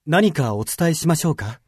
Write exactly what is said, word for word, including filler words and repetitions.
何かお伝えしましょうか？